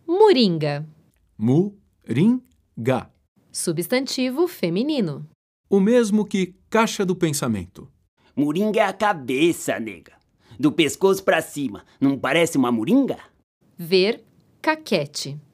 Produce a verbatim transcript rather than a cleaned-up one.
Moringa. Mu-rin-ga. Substantivo feminino. O mesmo que caixa do pensamento. Moringa é a cabeça, nega. Do pescoço pra cima. Não parece uma moringa? Ver caquete.